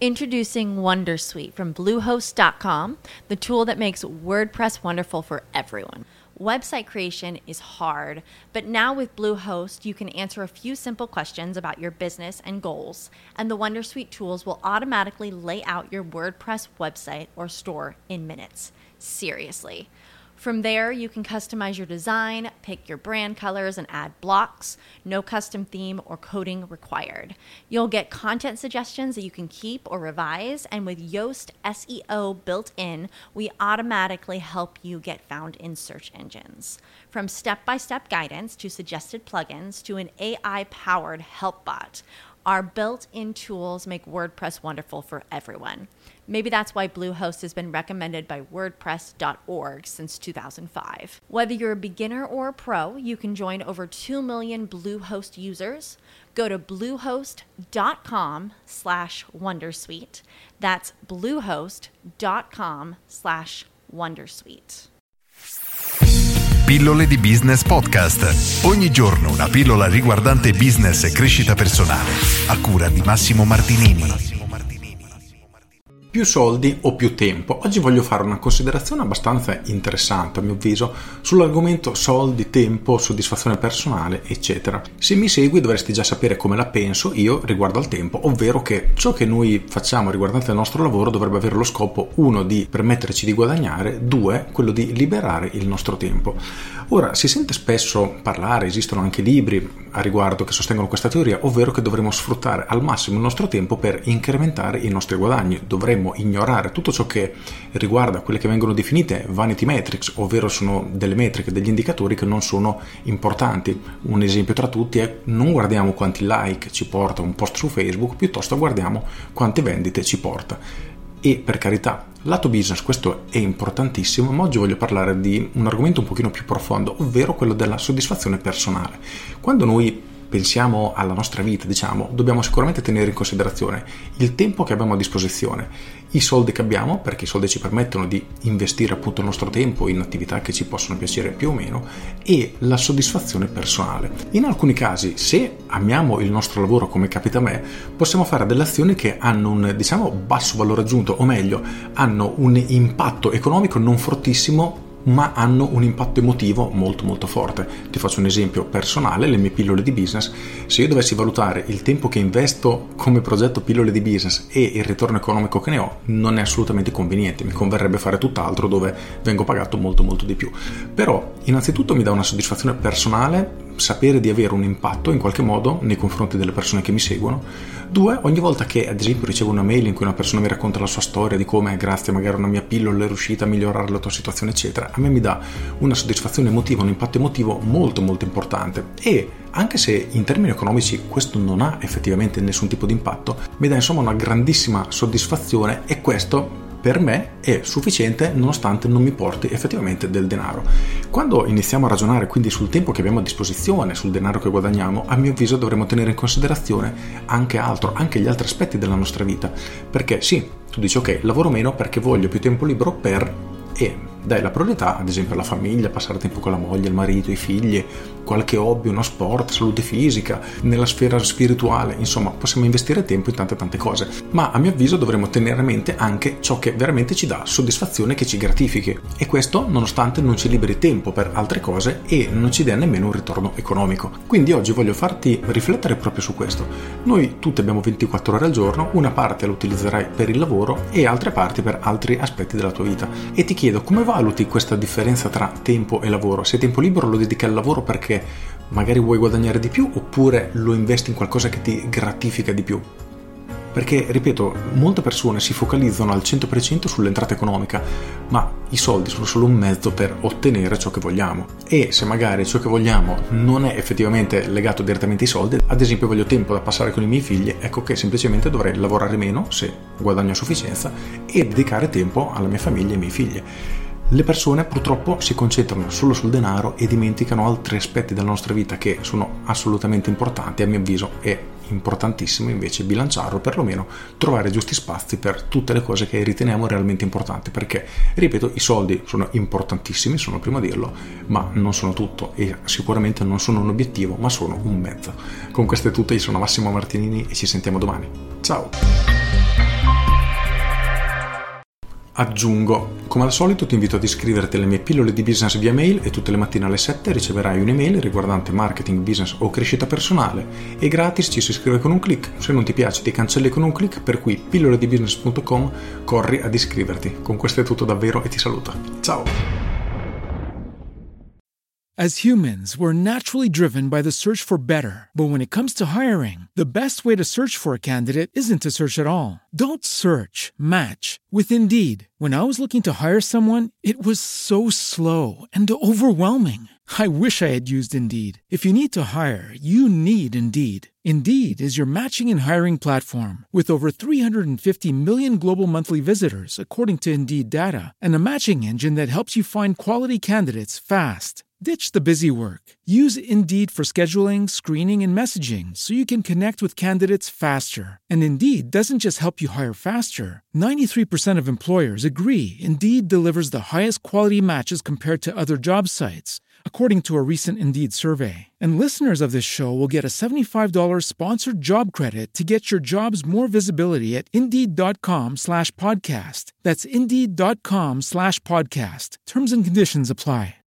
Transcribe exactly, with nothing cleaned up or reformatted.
Introducing Wondersuite from Bluehost dot com, the tool that makes WordPress wonderful for everyone. Website creation is hard, but now with Bluehost, you can answer a few simple questions about your business and goals, and the Wondersuite tools will automatically lay out your WordPress website or store in minutes. Seriously. From there, you can customize your design, pick your brand colors, and add blocks. No custom theme or coding required. You'll get content suggestions that you can keep or revise, and with Yoast S E O built in, we automatically help you get found in search engines. From step-by-step guidance to suggested plugins to an A I-powered help bot, our built-in tools make WordPress wonderful for everyone. Maybe that's why Bluehost has been recommended by WordPress dot org since two thousand five. Whether you're a beginner or a pro, you can join over two million Bluehost users. Go to bluehost dot com slash wondersuite. That's bluehost dot com slash wondersuite. Pillole di Business Podcast. Ogni giorno una pillola riguardante business e crescita personale. A cura di Massimo Martinini. Più soldi o più tempo? Oggi voglio fare una considerazione abbastanza interessante, a mio avviso, sull'argomento soldi, tempo, soddisfazione personale, eccetera. Se mi segui dovresti già sapere come la penso io riguardo al tempo, ovvero che ciò che noi facciamo riguardante il nostro lavoro dovrebbe avere lo scopo, uno, di permetterci di guadagnare, due, quello di liberare il nostro tempo. Ora, si sente spesso parlare, esistono anche libri a riguardo che sostengono questa teoria, ovvero che dovremmo sfruttare al massimo il nostro tempo per incrementare i nostri guadagni. Dovremmo ignorare tutto ciò che riguarda quelle che vengono definite vanity metrics, ovvero sono delle metriche, degli indicatori che non sono importanti. Un esempio tra tutti è: non guardiamo quanti like ci porta un post su Facebook, piuttosto guardiamo quante vendite ci porta. E per carità, lato business questo è importantissimo, ma oggi voglio parlare di un argomento un pochino più profondo, ovvero quello della soddisfazione personale. Quando noi pensiamo alla nostra vita, diciamo, dobbiamo sicuramente tenere in considerazione il tempo che abbiamo a disposizione, i soldi che abbiamo, perché i soldi ci permettono di investire appunto il nostro tempo in attività che ci possono piacere più o meno, e la soddisfazione personale. In alcuni casi, se amiamo il nostro lavoro come capita a me, possiamo fare delle azioni che hanno un, diciamo, basso valore aggiunto, o meglio, hanno un impatto economico non fortissimo, ma hanno un impatto emotivo molto molto forte. Ti faccio un esempio personale, le mie pillole di business. Se io dovessi valutare il tempo che investo come progetto pillole di business e il ritorno economico che ne ho, non è assolutamente conveniente, mi converrebbe fare tutt'altro dove vengo pagato molto molto di più. Però innanzitutto mi dà una soddisfazione personale sapere di avere un impatto in qualche modo nei confronti delle persone che mi seguono. Due, ogni volta che ad esempio ricevo una mail in cui una persona mi racconta la sua storia di come grazie magari a una mia pillola è riuscita a migliorare la tua situazione eccetera, a me mi dà una soddisfazione emotiva, un impatto emotivo molto molto importante. E anche se in termini economici questo non ha effettivamente nessun tipo di impatto, mi dà insomma una grandissima soddisfazione, e questo per me è sufficiente nonostante non mi porti effettivamente del denaro. Quando iniziamo a ragionare quindi sul tempo che abbiamo a disposizione, sul denaro che guadagniamo, a mio avviso dovremmo tenere in considerazione anche altro, anche gli altri aspetti della nostra vita. Perché sì, tu dici ok, lavoro meno perché voglio più tempo libero per... e dai la priorità ad esempio alla famiglia, passare tempo con la moglie, il marito, i figli, qualche hobby, uno sport, salute fisica, nella sfera spirituale, insomma possiamo investire tempo in tante tante cose, ma a mio avviso dovremmo tenere a mente anche ciò che veramente ci dà soddisfazione, che ci gratifichi, e questo nonostante non ci liberi tempo per altre cose e non ci dia nemmeno un ritorno economico. Quindi oggi voglio farti riflettere proprio su questo. Noi tutti abbiamo ventiquattro ore al giorno, una parte la utilizzerai per il lavoro e altre parti per altri aspetti della tua vita, e ti chiedo come valuti questa differenza tra tempo e lavoro. Se tempo libero lo dedichi al lavoro perché magari vuoi guadagnare di più, oppure lo investi in qualcosa che ti gratifica di più? Perché, ripeto, molte persone si focalizzano al cento per cento sull'entrata economica, ma i soldi sono solo un mezzo per ottenere ciò che vogliamo. E se magari ciò che vogliamo non è effettivamente legato direttamente ai soldi, ad esempio voglio tempo da passare con i miei figli, ecco che semplicemente dovrei lavorare meno, se guadagno a sufficienza, e dedicare tempo alla mia famiglia e ai miei figli. Le persone purtroppo si concentrano solo sul denaro e dimenticano altri aspetti della nostra vita che sono assolutamente importanti. A mio avviso è importantissimo invece bilanciarlo, perlomeno trovare giusti spazi per tutte le cose che riteniamo realmente importanti, perché, ripeto, i soldi sono importantissimi, sono il primo a dirlo, ma non sono tutto e sicuramente non sono un obiettivo, ma sono un mezzo. Con questo è tutto, io sono Massimo Martinini e ci sentiamo domani. Ciao! Aggiungo, come al solito ti invito ad iscriverti alle mie pillole di business via mail e tutte le mattine alle sette riceverai un'email riguardante marketing, business o crescita personale e gratis ci si iscrive con un click. Se non ti piace ti cancelli con un click, per cui pillole di business punto com, corri ad iscriverti. Con questo è tutto davvero e ti saluto. Ciao! As humans, we're naturally driven by the search for better. But when it comes to hiring, the best way to search for a candidate isn't to search at all. Don't search, match with Indeed. When I was looking to hire someone, it was so slow and overwhelming. I wish I had used Indeed. If you need to hire, you need Indeed. Indeed is your matching and hiring platform with over three hundred fifty million global monthly visitors, according to Indeed data, and a matching engine that helps you find quality candidates fast. Ditch the busy work. Use Indeed for scheduling, screening, and messaging so you can connect with candidates faster. And Indeed doesn't just help you hire faster. ninety-three percent of employers agree Indeed delivers the highest quality matches compared to other job sites, according to a recent Indeed survey. And listeners of this show will get a seventy-five dollars sponsored job credit to get your jobs more visibility at Indeed.com slash podcast. That's Indeed.com slash podcast. Terms and conditions apply.